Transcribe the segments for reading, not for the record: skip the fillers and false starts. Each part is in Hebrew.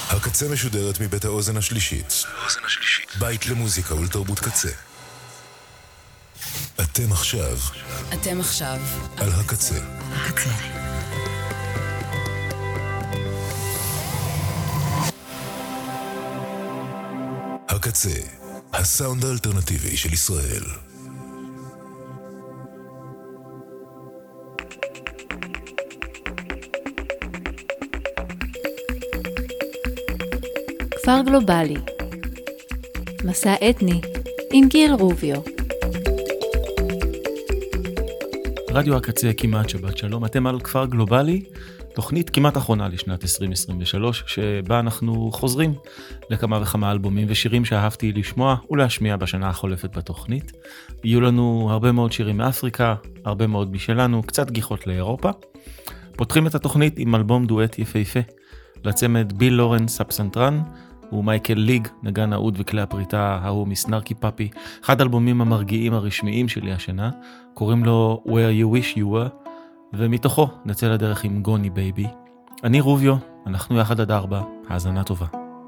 הקצה משודרת מבית האוזן השלישית. בית למוזיקה ולתרבות קצה. אתם עכשיו על הקצה. הקצה, הסאונד האלטרנטיבי של ישראל. כפר גלובלי, מסע אתני עם גיל רוביו. רדיו הקצה כמעט שבת שלום, אתם על כפר גלובלי, תוכנית כמעט אחרונה לשנת 2023, שבה אנחנו חוזרים לכמה וכמה אלבומים ושירים שאהבתי לשמוע ולהשמיע בשנה החולפת בתוכנית. יהיו לנו הרבה מאוד שירים מאפריקה, הרבה מאוד משלנו, קצת גיחות לאירופה. פותחים את התוכנית עם אלבום דואט יפהפה, לצמד ביל לורנס הפסנתרן, ומייקל ליג, נגן העוד וכלי הפריטה ההוא מסנרקי פאפי, אחד האלבומים המרגיעים הרשמיים שלי השנה, קוראים לו Where You Wish You Were, ומתוכו נצא לדרך עם גוני בייבי. אני רוביו, אנחנו יחד עד 4, האזנה טובה.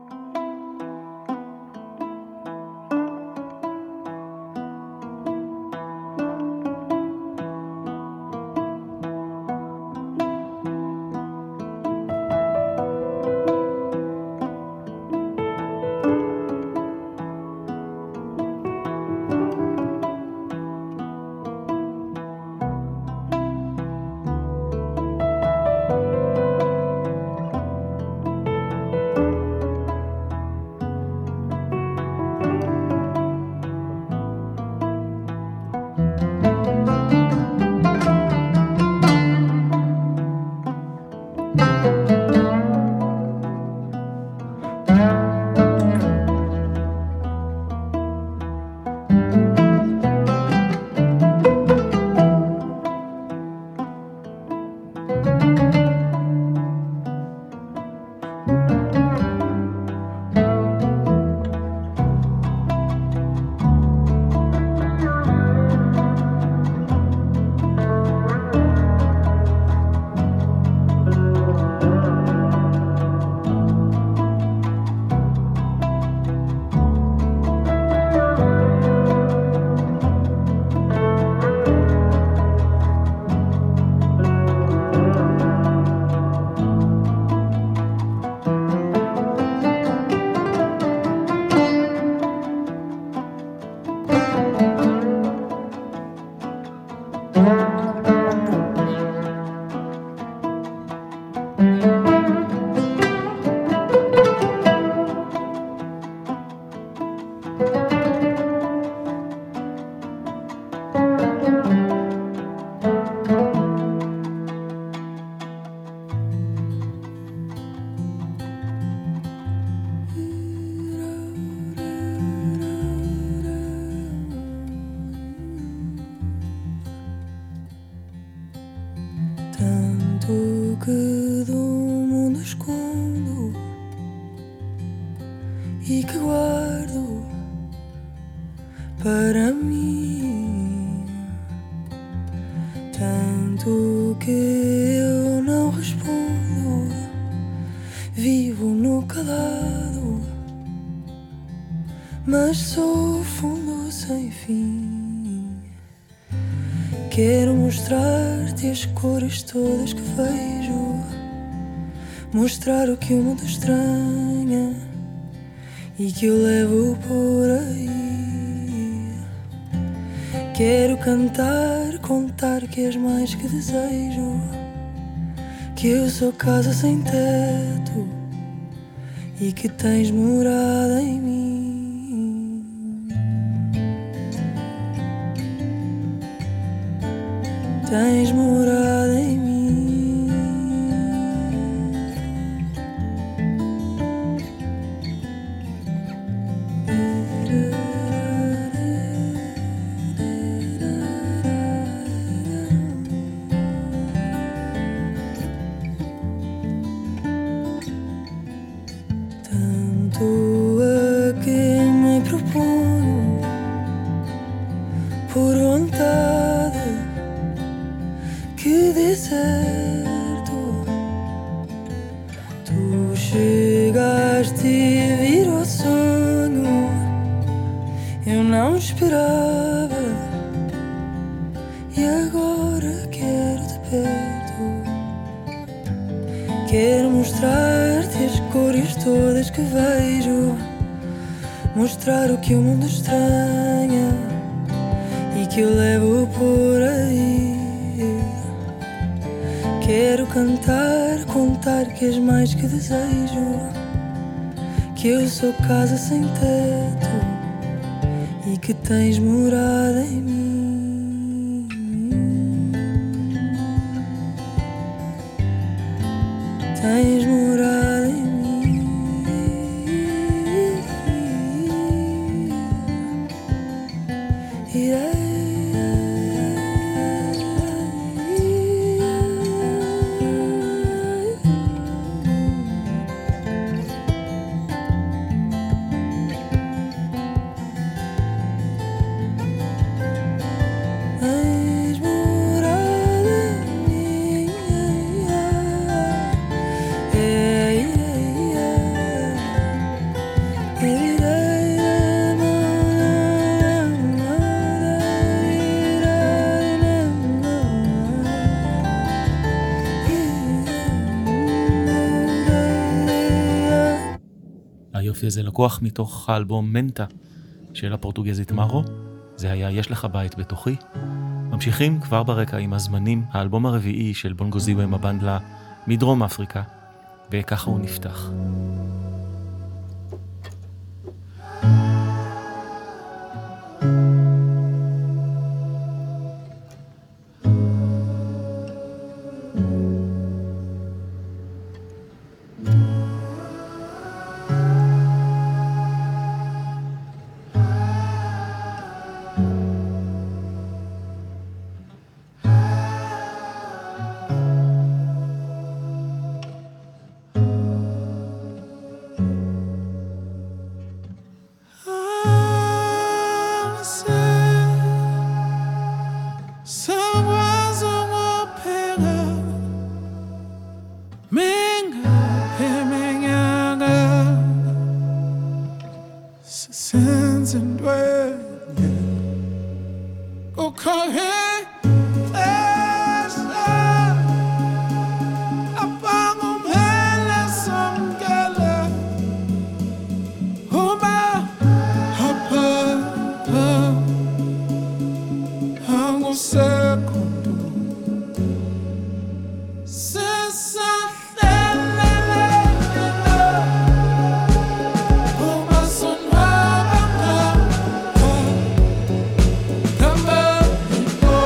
Todas que vejo, mostrar o que o mundo estranha e que eu levo por aí. Quero cantar, contar que és mais que desejo, que eu sou casa sem teto e que tens morada em mim. Tens morada em mim. Tanto a que me proponho por vontade que dê certo. Tu chegas chegaste e virou sonho. Eu não esperava e agora quero-te perto. Quero mostrar-te as cores todas que vejo, mostrar o que o mundo estranha e que eu levo por aí. Quero cantar, contar que és mais que desejo, que eu sou casa sem teto e que tens morada em mim. Tens morada em mim. היופי הזה לקוח מתוך האלבום מנטה של הפורטוגזית מרו. זה היה יש לך בית בתוכי. ממשיכים כבר ברקע עם הזמנים, האלבום הרביעי של בונגוזיו עם הבנדלה מדרום אפריקה, וככה הוא נפתח. Come on.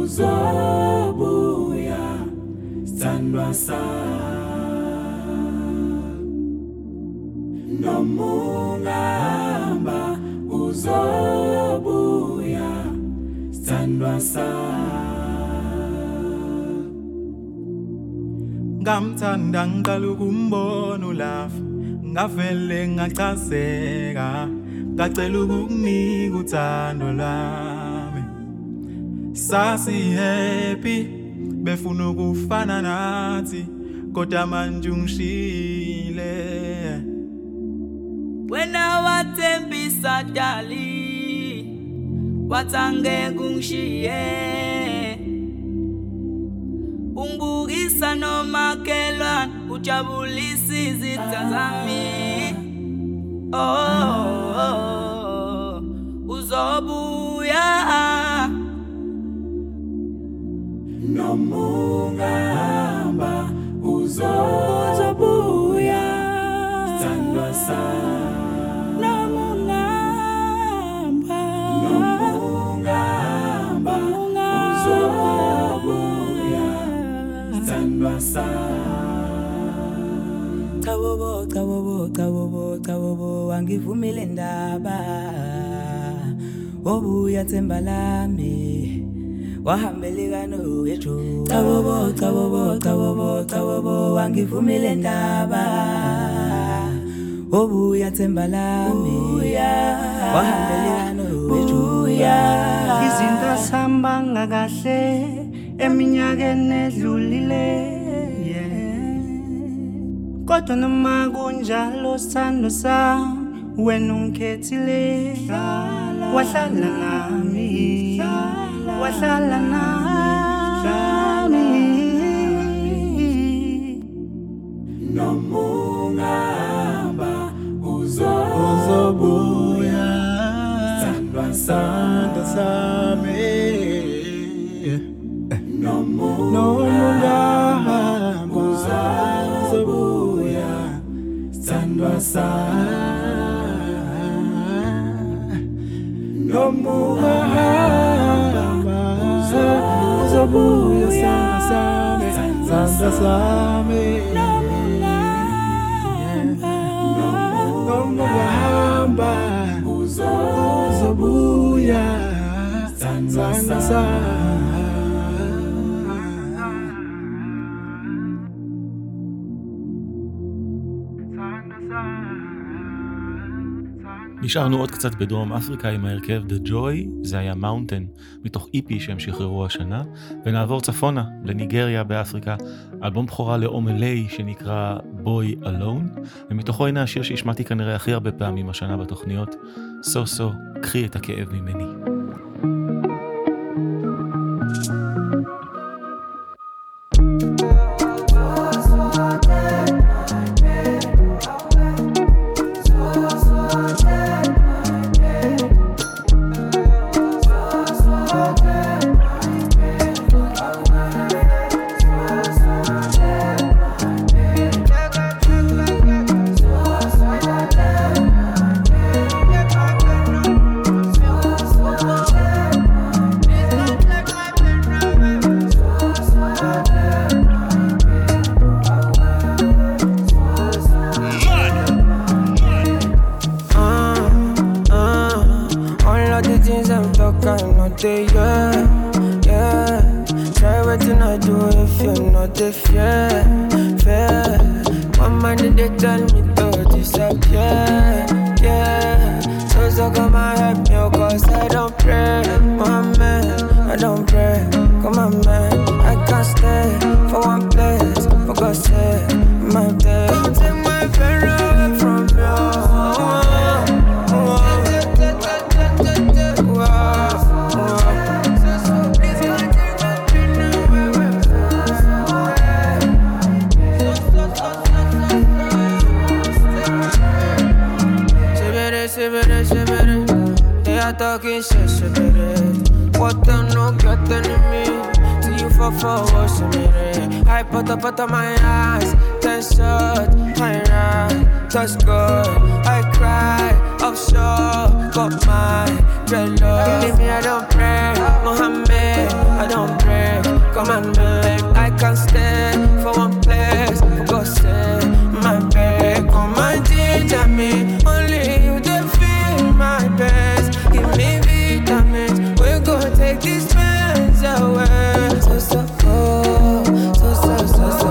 uzobuya sithandwa nomungamba uzobuya sithandwa ngamthanda ngiqala ukumbona ulafa ngavele ngachazeka ngacela ukukunika uthando lami sasi happy befuna ukufana nathi kodwa manje ungishile wena wathembisa dali wathangeke ungishiye ungibukisa nomakhelwane ujabulisa izitha zami uzobuya nomungamba uzobuya sithandwa nomungamba uzobuya sithandwa Chabobo angivumile ndaba obuya themba lami wahambeleka nowejo chabobo angivumile ndaba obuya themba lami wahambeleka nowejo izinto sambanga kahle eminyakeni edlulile kodwa noma kunjalo sithando sami wena ungikhethile wahlala nami nomungamba uzobuya sithandwa sami nomungamba uzobuya sithandwa nomungamba uzobuya sithandwa sami nomungamba uzobuya sithandwa sami נשארנו עוד קצת בדרום אפריקה עם ההרכב The Joy, זה היה Mountain, מתוך EP שהם שחררו השנה, ונעבור צפונה לניגריה באפריקה, אלבום בכורה לאומלי שנקרא Boy Alone, ומתוכו הנה השיר שהשמעתי כנראה הכי הרבה פעמים השנה בתוכניות, So, קחי את הכאב ממני. talking shit, what the no get enemy? See you for what's in me. I put up my eyes, 10 shots, I ride, touch good. I cry, offshore, got my dreadlocks. You leave me, I don't pray, Mohammed, I don't come on, babe. I can't stay for one place. Go stay, my babe. Come and ginger me. Only you that feel my best. Give me vitamins. We're gonna take these pains away. So, so, oh, so, so, so, so,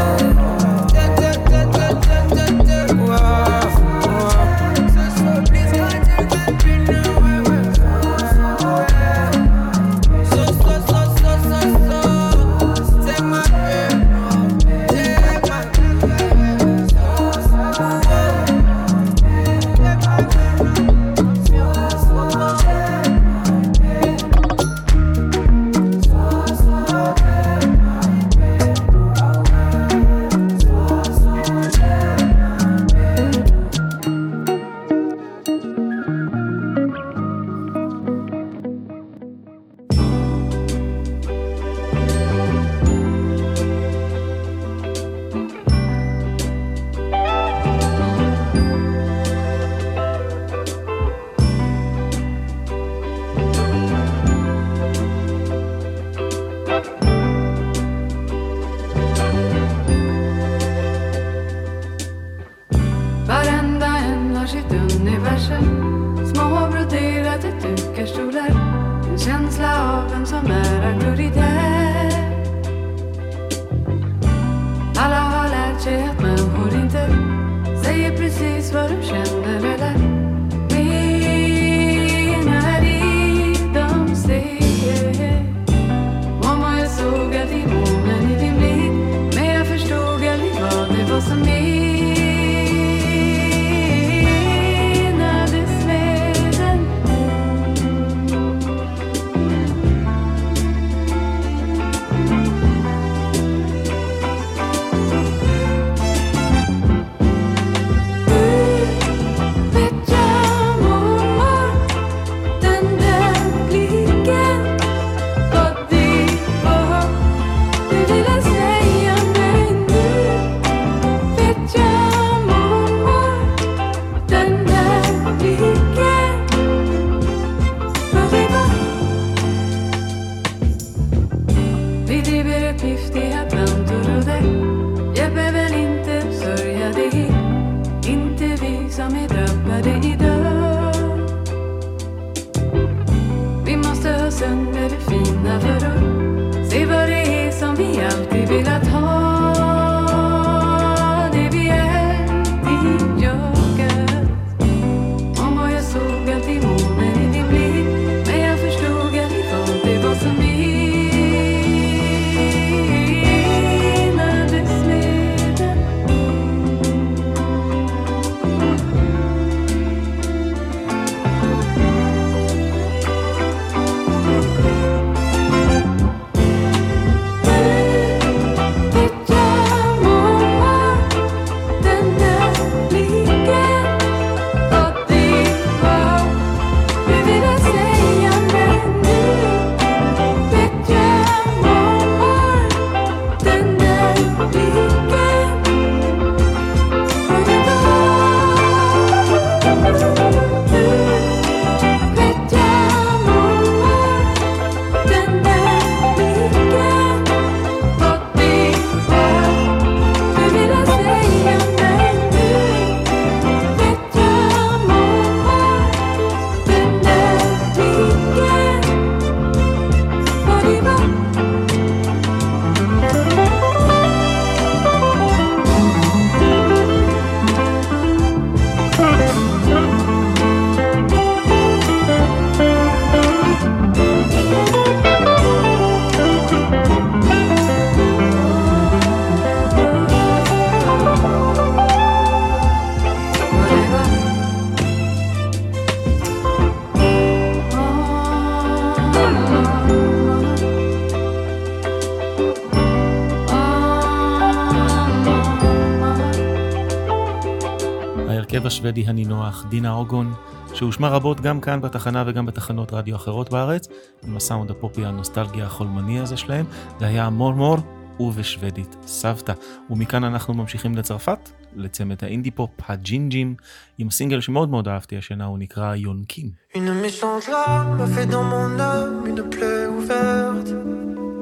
ההרכב השוודי הנינוח דינה אוגון, שהושמע רבות גם כאן בתחנה וגם בתחנות רדיו אחרות בארץ, עם הסאונד הפופי הנוסטלגיה החולמני הזה שלהם. זה היה מורמור ובשוודית סבתא. ומכאן אנחנו ממשיכים לצרפת, לצמד האינדי פופ הג'ינג'ים, עם הסינגל שמאוד מאוד אהבתי השנה, הוא נקרא יונקים. Une méchante larme a fait dans mon âme une plaie ouverte. Je me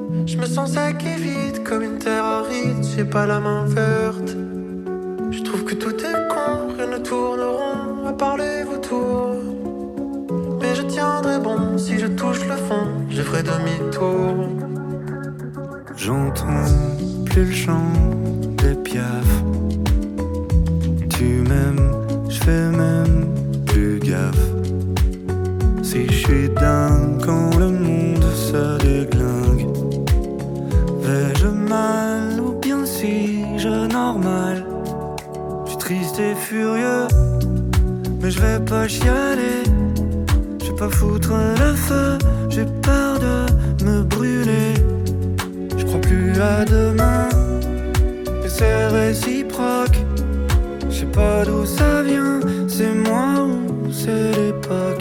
sens sec et vide comme une terre aride, j'ai pas la main verte. Je trouve que tout est con, rien ne tourne rond à part les vautours. Mais je tiendrai bon, si je touche le fond, je ferai demi-tour. J'entends plus le chant des piafs. Tu m'aimes, je fais même plus gaffe. Si je suis dingue quand le monde se déglingue, vais-je mal ou bien suis-je normal? Je suis triste et furieux, mais je vais pas chialer. Je vais pas foutre le feu, j'ai peur de me brûler. Je crois plus à demain, et c'est réciproque. Je sais pas d'où ça vient, c'est moi ou c'est l'époque.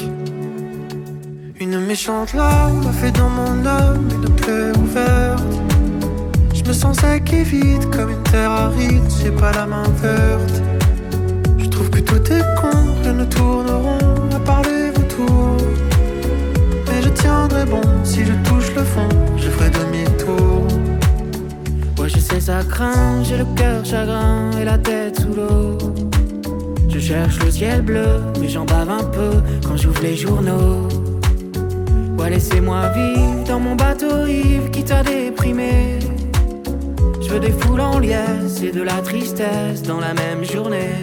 Une méchante larme a fait dans mon âme une plaie ouverte. Je me sens sec et vide comme une terre aride, j'ai pas la main verte. Je trouve que tout est con, rien ne tourne rond à part les vautours. Mais je tiendrai bon, si je touche le fond, je ferai demi-tour. Ouais, je sais ça craint, j'ai le cœur chagrin et la tête sous l'eau. Je cherche le ciel bleu, mais j'en bave un peu quand j'ouvre les journaux. Ouais, laissez-moi vivre dans mon bateau ivre qui t'a déprimé. Je veux des foules en liesse et de la tristesse dans la même journée.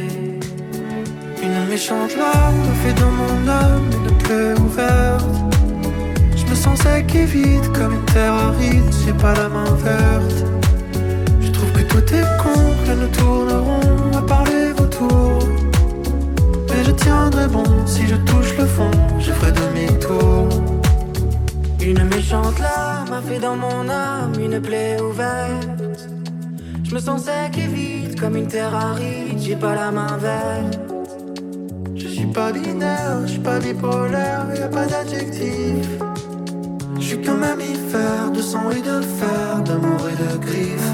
Une méchante larme a fait dans mon âme une plaie ouverte. Je me sens sec et vide comme une terre aride, j'ai pas la main verte. Je trouve que tout est con, rien ne tourne rond à part les vautours. Mais je tiendrai bon, si je touche le fond, je ferai demi-tour. Une méchante larme a fait dans mon âme une plaie ouverte. Je me sens sec et vide comme une terre aride, j'ai pas la main verte. Je suis pas binaire, je suis pas bipolaire, y'a pas d'adjectif. Je suis qu'un mammifère de sang et de fer, d'amour et de griffes.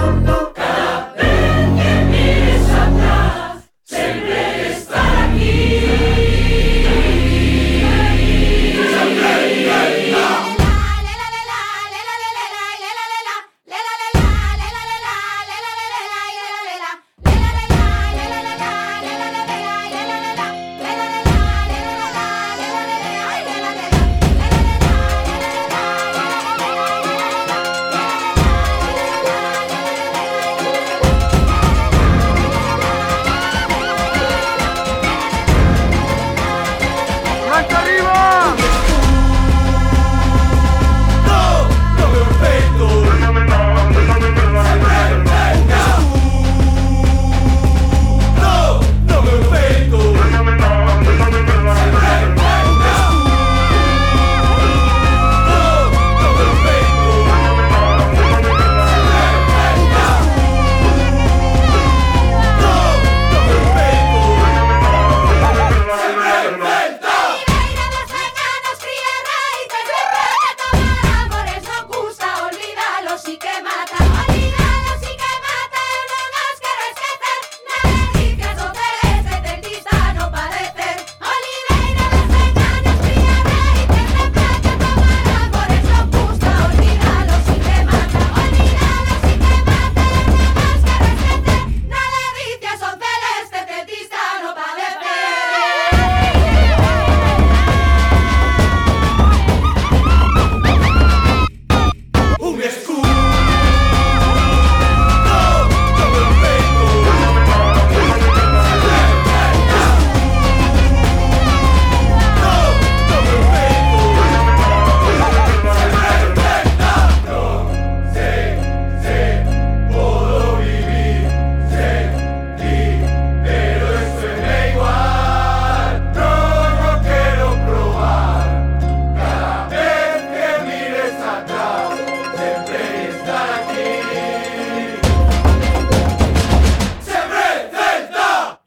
Aquí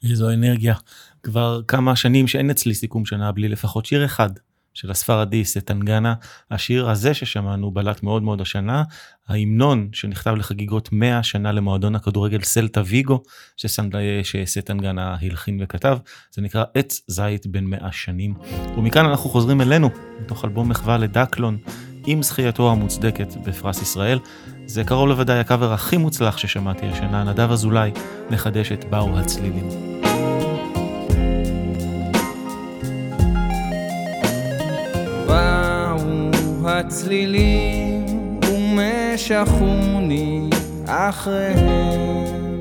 איזו אנרגיה. כבר כמה שנים שאין אצלי סיכום שנה בלי לפחות שיר אחד של הספרדי סטנגנה. השיר הזה ששמענו בלט מאוד מאוד השנה, ההמנון שנכתב לחגיגות 100 שנה למועדון הכדורגל סלטה ויגו, שסטנגנה הלחין וכתב, זה נקרא עץ זית בין 100 שנים. ומכאן אנחנו חוזרים אלינו, מתוך אלבום מחווה לדקלון, עם זכייתו המוצדקת בפרס ישראל. זה קרוב לוודאי הקאבר הכי מוצלח ששמעתי השנה, נדב אזולאי מחדש את באו הצלילים. באו הצלילים ומשכוני אחריהם,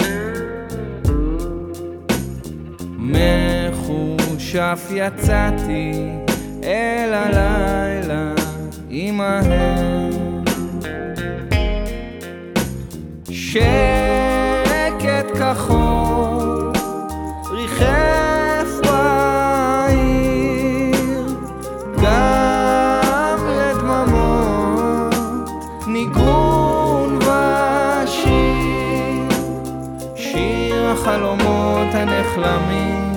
מחושף יצאתי אל הלילה עמהם, שקט כחול ריחף בעיר, גם לדממות ניגון ושיר, שיר החלומות הנחלמים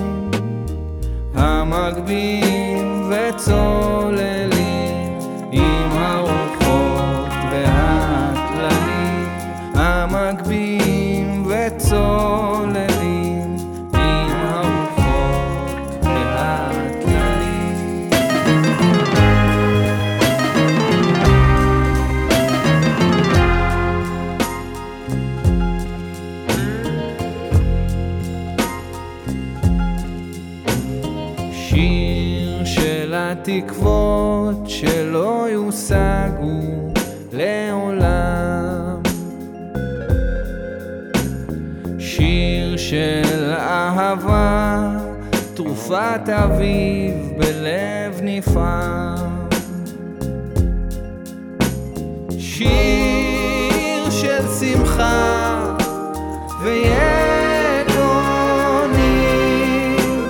המגבים וצוללים עם הרוחות והטללים, המגבים וצוללים עם הרוחות והטללים. שיר של התקוות שלא יושגו לעולם, שיר של אהבה, תרופת אביב בלב נפעם, שיר של שמחה ויגונים,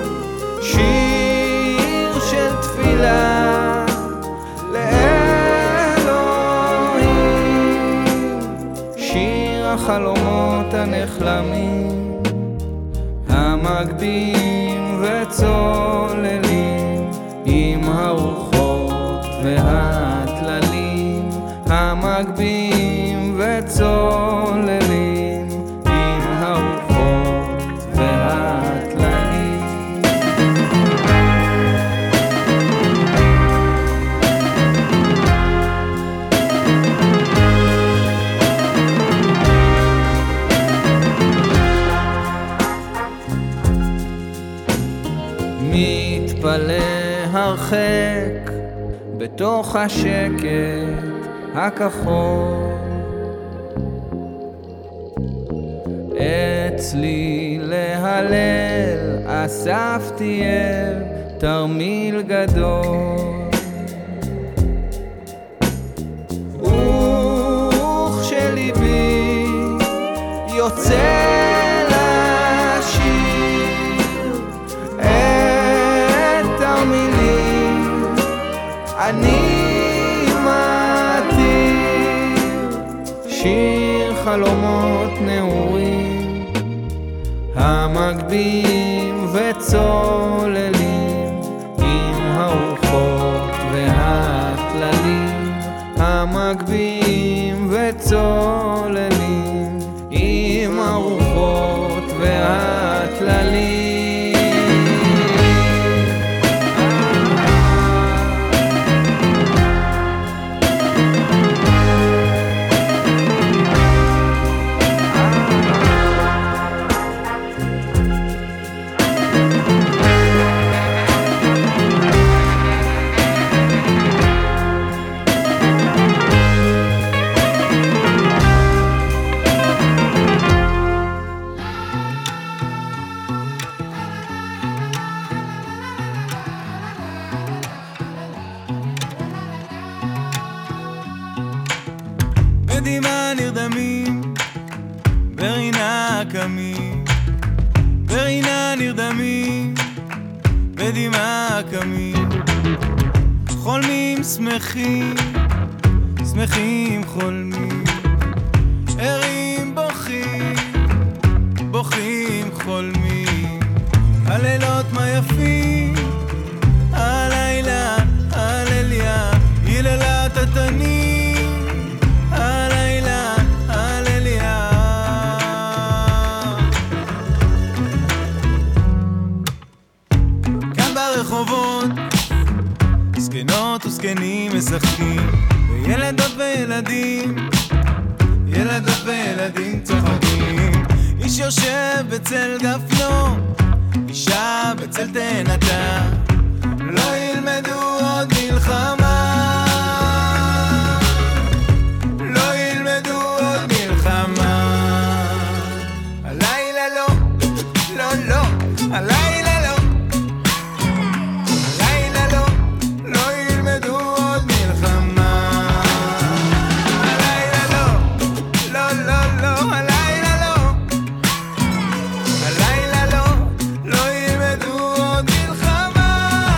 שיר של תפילה לאלוהים, שיר החלומות הנחלמים המגבים וצוללים עם הרוחות והטללים, המגבים וצוללים עם הרוחות והטללים. מתפלא הרחק בתוך השקט הכחול, אצלי להלל אספתי אל תרמיל גדול, וכשליבי יוצא אני מתיר שיר חלומות נעורים המגבים וצוללים עם הרוחות והטללים, המגבים וצוללים עם הרוחות והטללים. בדמעה נרדמים, ברינה קמים, ברינה נרדמים, בדמעה קמים, חולמים שמחים, שמחים חולמים, ערים בוכים, בוכים חולמים, מה יפים הלילה הלליה היללה תתני הלילה הלליה כאן ברחובות זקנות וזקנים משחקים וילדות וילדים ילדות וילדים צוחקים איש יושב בצל גפנו אישה בצל תאנתה לא ילמדו עוד מלחמה לא ילמדו עוד מלחמה הלילה לא לא לא הלילה לא הלילה לא לא ילמדו עוד מלחמה הלילה לא לא לא לא הלילה לא הלילה לא לא ילמדו עוד מלחמה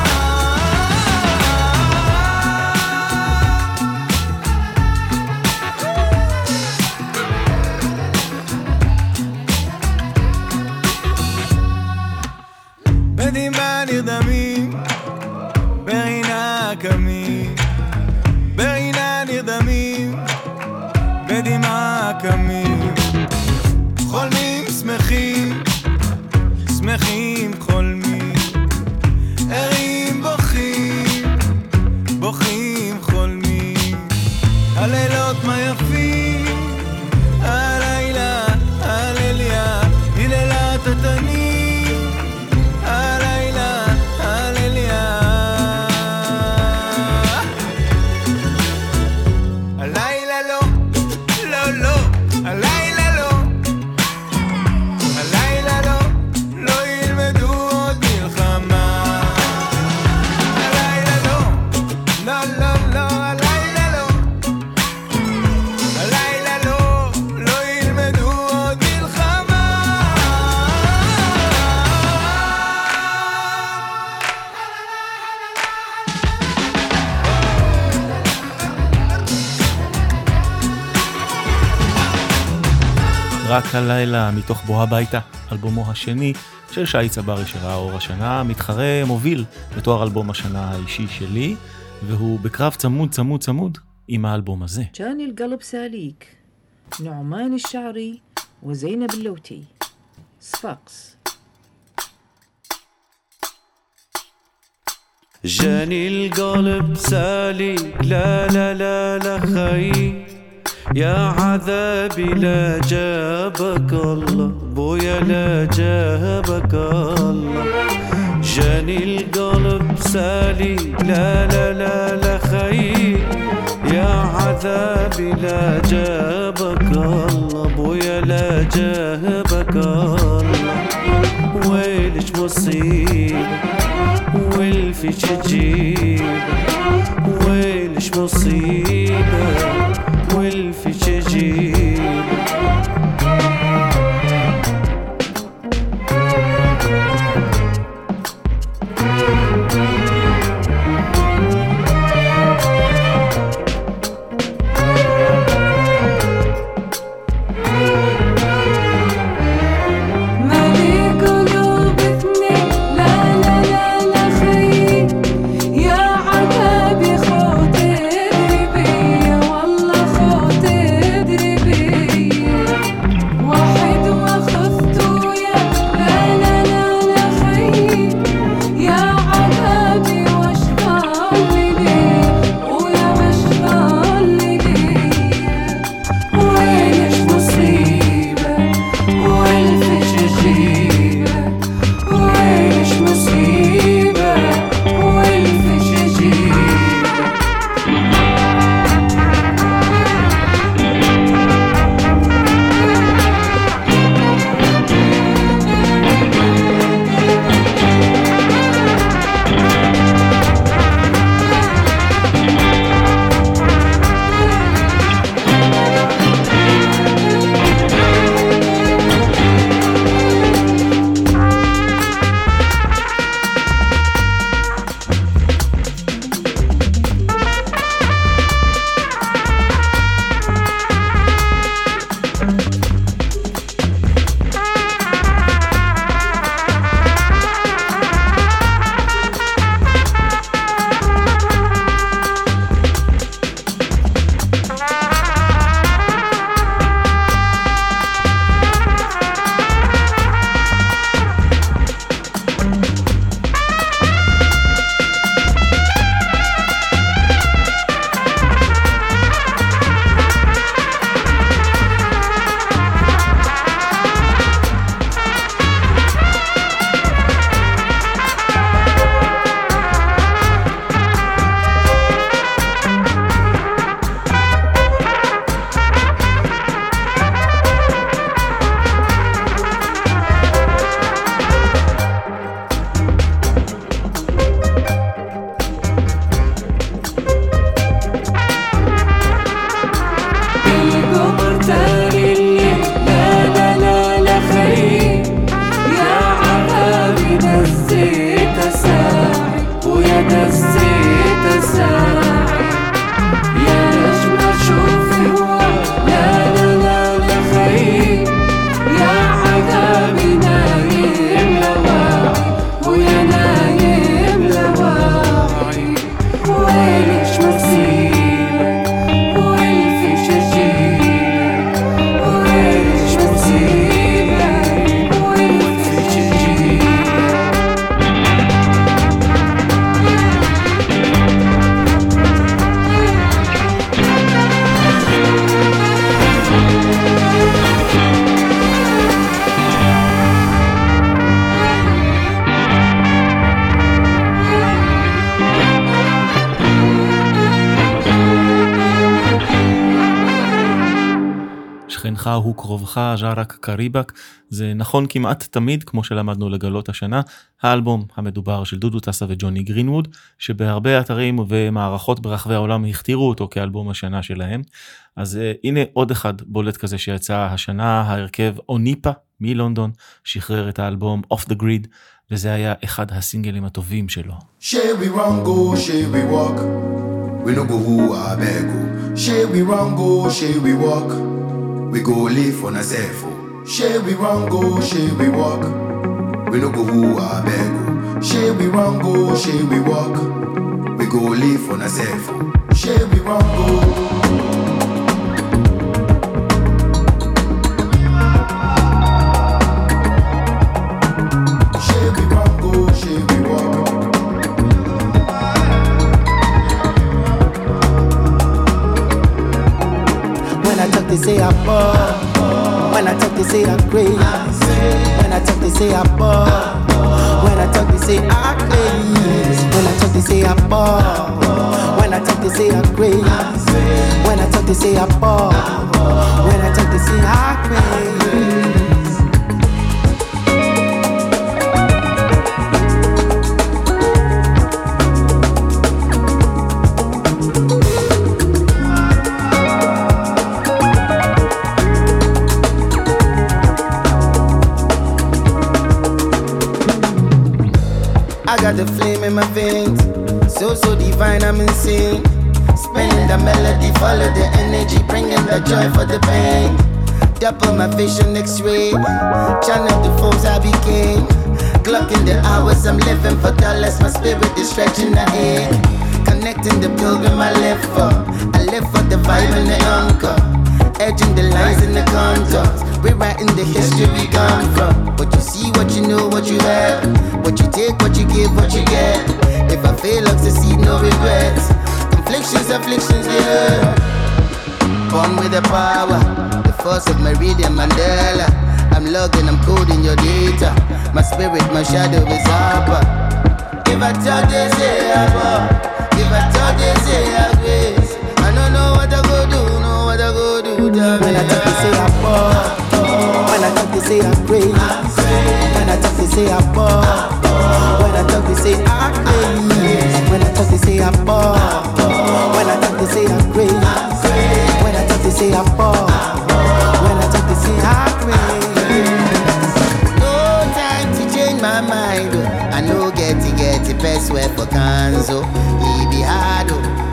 בדמעה נרדמים ברינה קמים ברינה נרדמים בדמעה קמים חולמים שמחים שמחים חולמים ערים בוכים בוכים חולמים הלילות מה יפים הלילה הלליה היללה תתני הלילה הלליה הלילה לא לא לא הלילה לא הלילה לא לא ילמדו עוד מלחמה הלילה לא לא לא לא הלילה לא הלילה לא לא ילמדו עוד מלחמה רק הלילה מתוך בוא הביתה, אלבומו השני של שי צברי שראה אור השנה, מתחרה מוביל בתואר אלבום השנה האישי שלי, והוא בקרב צמוד צמוד צמוד עם האלבום הזה. جاني القلب ساليك نعمان الشعري وزينب اللوتي صفاقس جاني القلب ساليك لا لا لا لا خي يا عذابي لا جابك الله بويا لا جابك الله جاني القلب سالي لا لا لا لا خي يا عذابي لا جابك الله بويا لا جابك الله ويلش مصيبة والفيش تجيب ويلش مصيبة والفيش تجيب خود ادري بيا والله خود ادري بيا עמיתך הוא קרובך, ז'רק קריבק. זה נכון כמעט תמיד, כמו שלמדנו לגלות השנה, האלבום המדובר של דודו טסה וג'וני גרינווד, שבהרבה אתרים ומערכות ברחבי העולם הכתירו אותו כאלבום השנה שלהם. אז הנה עוד אחד בולט כזה שיצא השנה, ההרכב אוניפה מלונדון, שחרר את האלבום Off the Grid, וזה היה אחד הסינגלים הטובים שלו. Shall we run go, shall we walk? We no go who I beg go. Shall we run go, shall we walk? We go live on a self. Shall we run go, shall we walk? We no go who I beg go. Shall we run go, shall we walk? We go live on a self. Shall we run go? They say I ball. When I talk, they say I crazy. When I talk, they say I ball. When I talk, they say I crazy. When I talk, they say I ball. When I talk, they say I crazy. When I talk, they say I ball. When I talk, they say I crazy. I got the flame in my veins, so divine, I'm insane. Spinning the melody, follow the energy, bringing the joy for the pain. Double my vision X-ray, channel the foes I became. Clocking the hours, I'm living for dollars, my spirit is stretching the air. Connecting the pilgrim I live for, I live for the vibe and the anchor. Edging the lines and the contours, rewriting the history we gone from. What you see, what you know, what you have. What you take, what you give, what you get. If I fail, I'll succeed, no regrets. Conflictions, afflictions, yeah. Born with the power, the force of Meridian Mandela. I'm logging, I'm coding your data. My spirit, my shadow is upper. If I talk, they say I bought. If I talk, they say I grace. I don't know what I go do, know what I go do. When I talk, they say I ball. When I talk, they say I crazy. When I talk, they say I ball. When I talk, they say I crazy. When I talk, they say I ball. When I talk, they say I crazy. When I talk, they say I ball. When I talk, they say I crazy. No time to change my mind. I know get the best way for Kanzo. He be hard.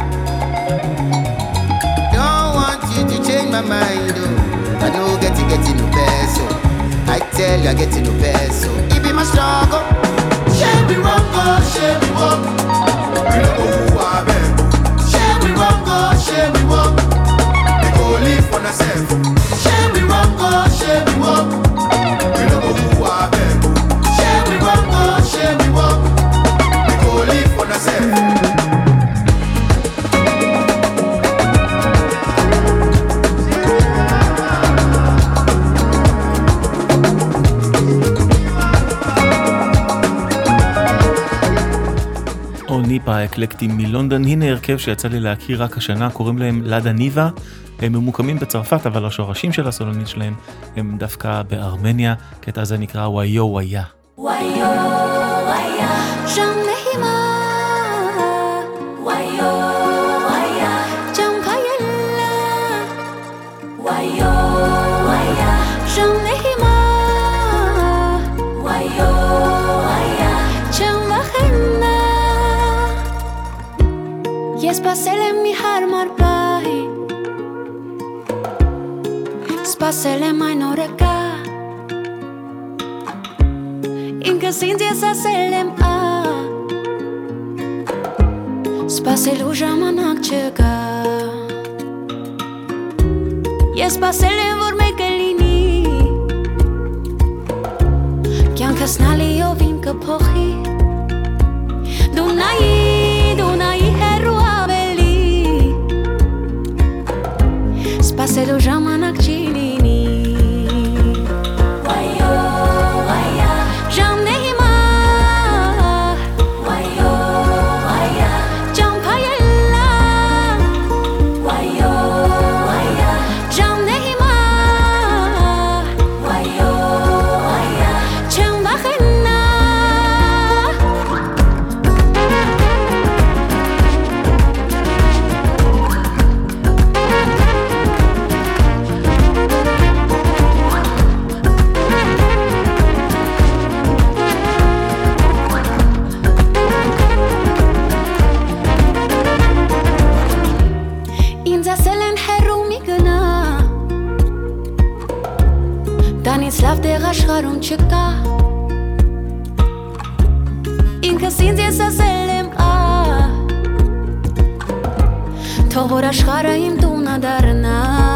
Don't want you to change my mind. I know get no best. I tell you I get no best. It be my struggle. Shall we run go, shall we walk? We don't go who I beg. Shall we run go, shall we walk? We go live for ourselves. Shall we run go, shall we walk? We don't go who I beg. Shall we run go, shall we walk? We go live for ourselves. ניפה האקלקטים מלונדון, הנה הרכב שיצא לי להכיר רק השנה, קוראים להם לדה ניבה, הם ממוקמים בצרפת, אבל השורשים של הסולנית שלהם הם דווקא בארמניה, קטע הזה נקרא ויו ויה. ויו ויה, שם נהימה, ויו ויה, שם חיילה, ויו ויה, שם נהימה, ויו ויה, שם וחנה. Spasele mi har marpai Spasele mai noreka Inka sintia sa selem a Spasele ujamanak chega Spasele vorme kelini Kyan kasnali yo vin ka pochi Dunai heru Spaselo jamanak chilini Wayo, waya Jam nehima Wayo, waya Jam payella Wayo, waya Jam nehima Dann slav der Raschradung chika In Kassin sie sa selem Togo Raschrada im Duna darna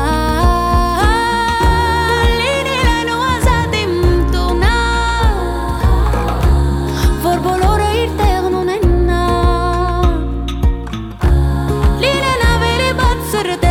Lini leno azadim Duna Vor bolora irterno nenna Lini navele batzerde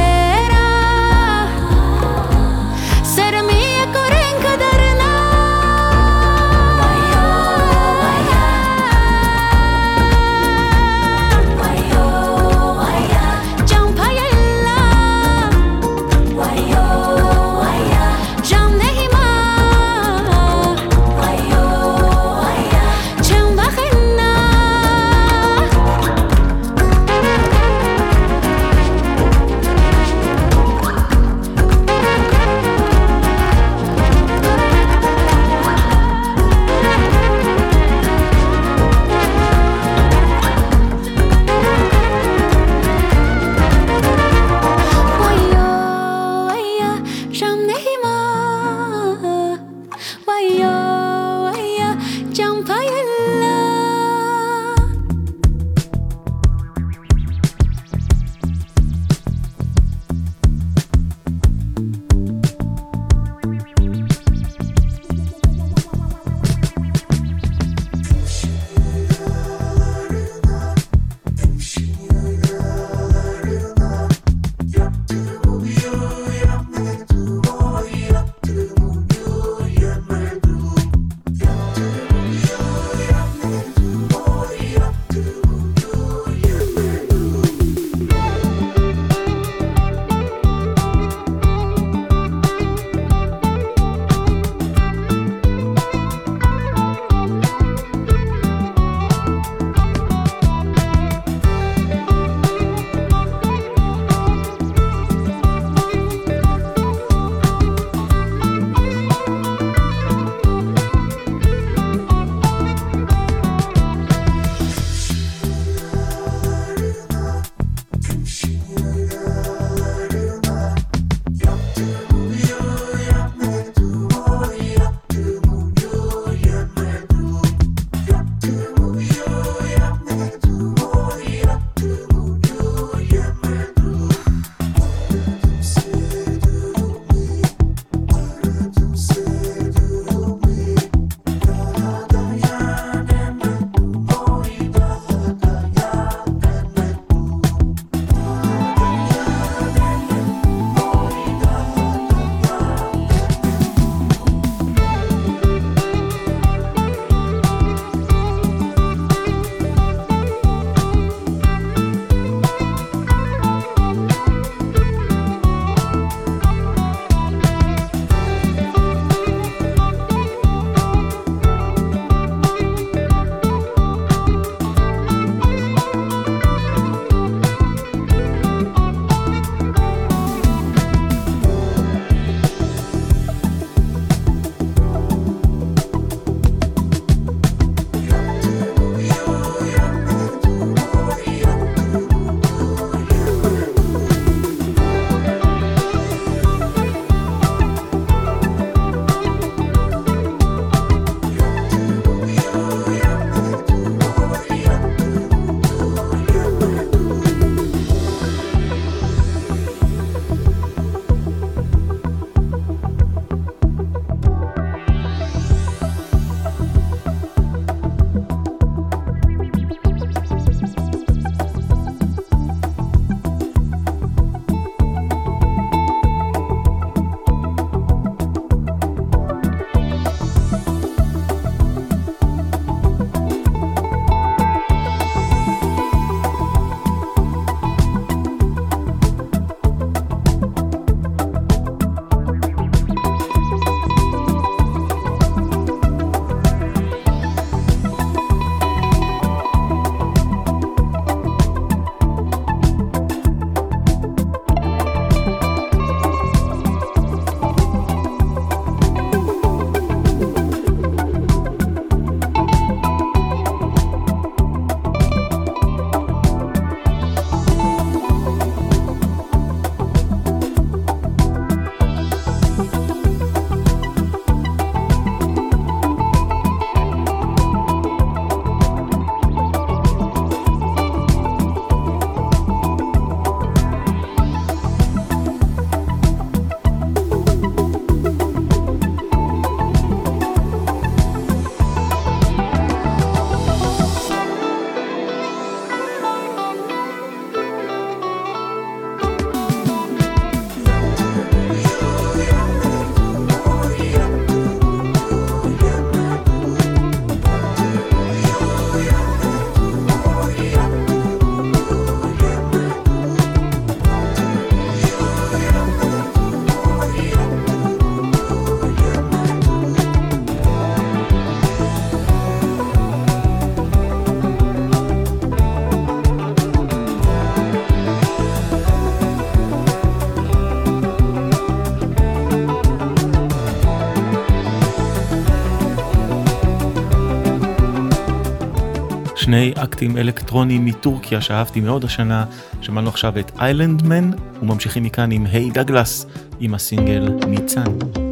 שני אקטים אלקטרוניים מטורקיה שאהבתי מאוד השנה. שמענו עכשיו את איילנדמן, וממשיכים מכאן עם היי דגלס, עם הסינגל ניצן.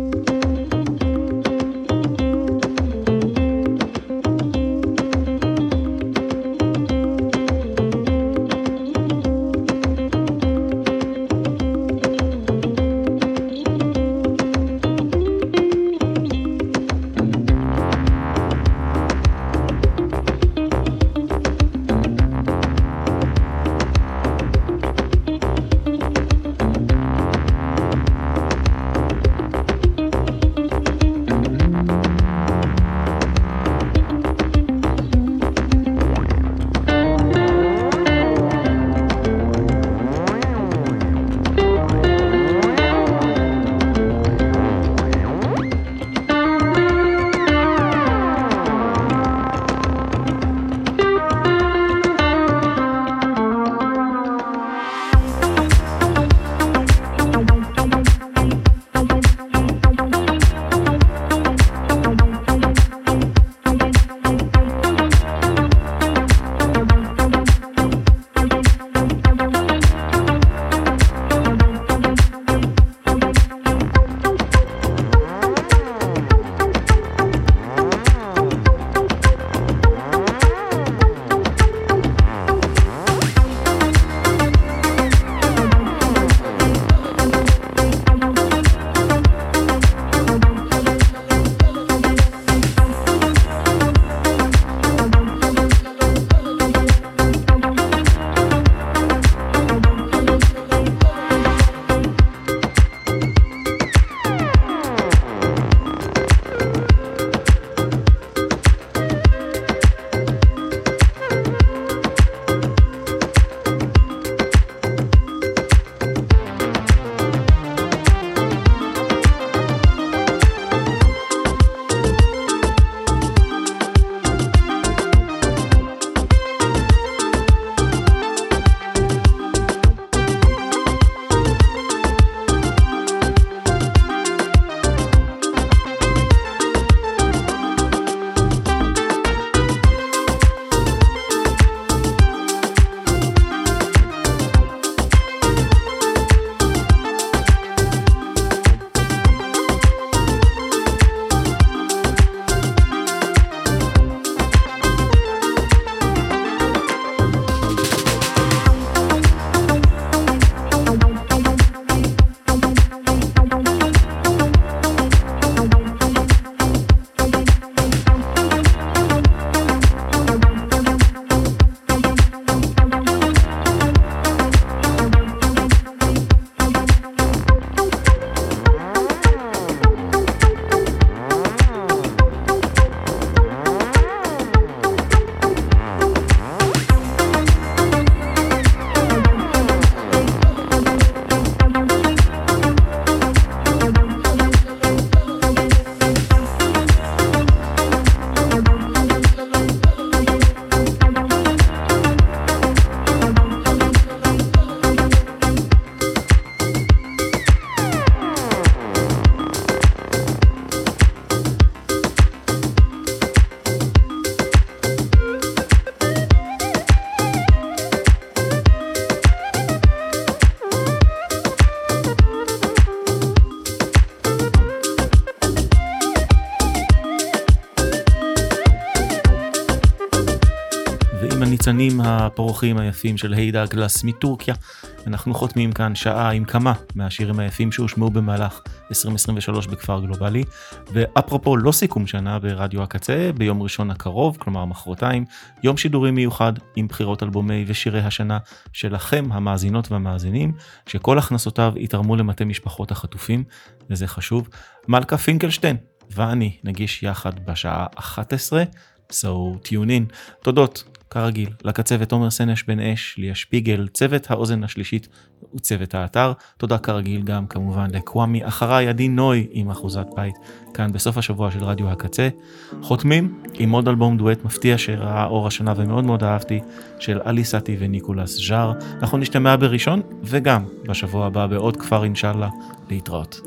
הניצנים הפורחים היפים של היי דגלס מטורקיה. אנחנו חותמים כאן שעה עם כמה מהשירים היפים שהושמעו במהלך 2023 בכפר גלובלי. ואפרופו לא סיכום שנה ברדיו הקצה, ביום ראשון הקרוב, כלומר מחרתיים, יום שידורים מיוחד עם בחירות אלבומי ושירי השנה שלכם המאזינות והמאזינים, שכל הכנסותיו יתרמו למטה משפחות החטופים, וזה חשוב. מלכה פינקלשטיין ואני נגיש יחד בשעה 11, so tune in. תודות כרגיל לקצבת תומר סנש בן אש, ליה שפיגל, צוות האוזן השלישית וצוות האתר. תודה כרגיל גם כמובן לקוואמי אחריי עדי נוי עם אחוזת בית כאן בסוף השבוע של רדיו הקצה. חותמים עם עוד אלבום דואט מפתיע שראה אור השנה ומאוד מאוד אהבתי, של אלי סאטי וניקולס ז'אר. אנחנו נשתמע בראשון וגם בשבוע הבא בעוד כפר אינשאללה. להתראות.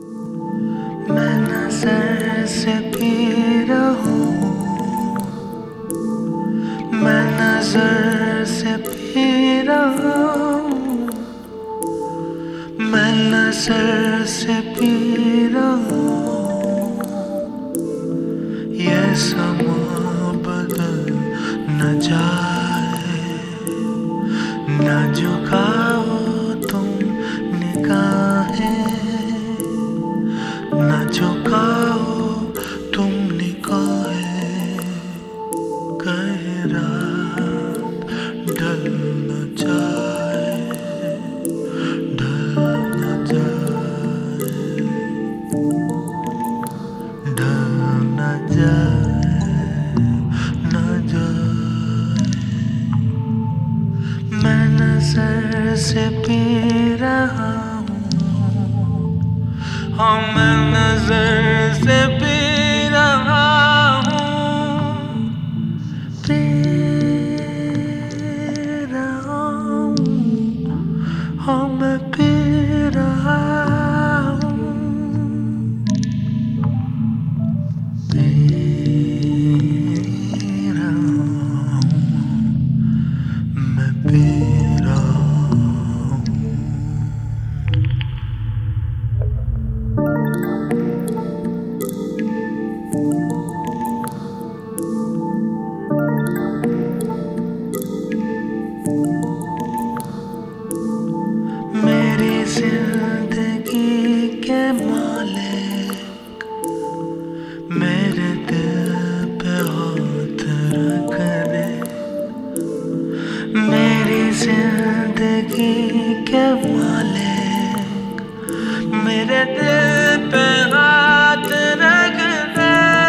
من नजर से पी रहा हूँ, मैं नजर से पी रहा हूँ, ये समा बदल न जाए, न झुकाओ तुम निगाहें, न झुकाओ तुम निगाहें, कहीं रात ढल न जाए, ढल न जाए, ढल न जाए, न जाए। मैं नजर से पी रहा हूँ, हाँ मैं नजर से पी रहा हूँ, पी रहा हूँ, हाँ मैं पी रहा हूँ, पी रहा हूँ, मैं पी रहा हूँ। मेरी जिंदगी के मालिक मेरे दिल पे हाथ रख दे, मेरी जिंदगी के मालिक मेरे दिल पे हाथ रख दे,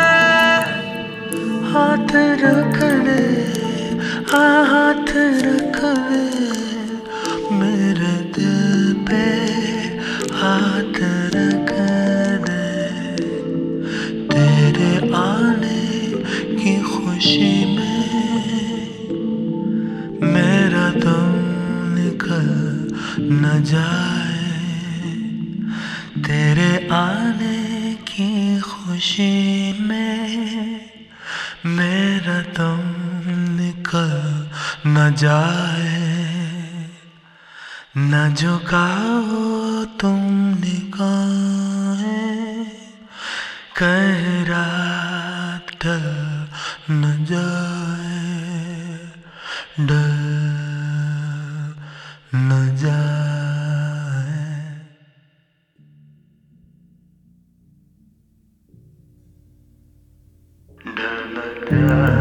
हाथ रख दे, हाथ रख दे, मेरे दिल पे हाथ रख दे, तेरे आने की खुशी में मेरा दम निकल न जाए, तेरे आने की खुशी में मेरा दम निकल न जाए, न झुकाओ तुम निगाहें, कहीं रात ढल न जाए, ढल न जाए। ढल न जाए।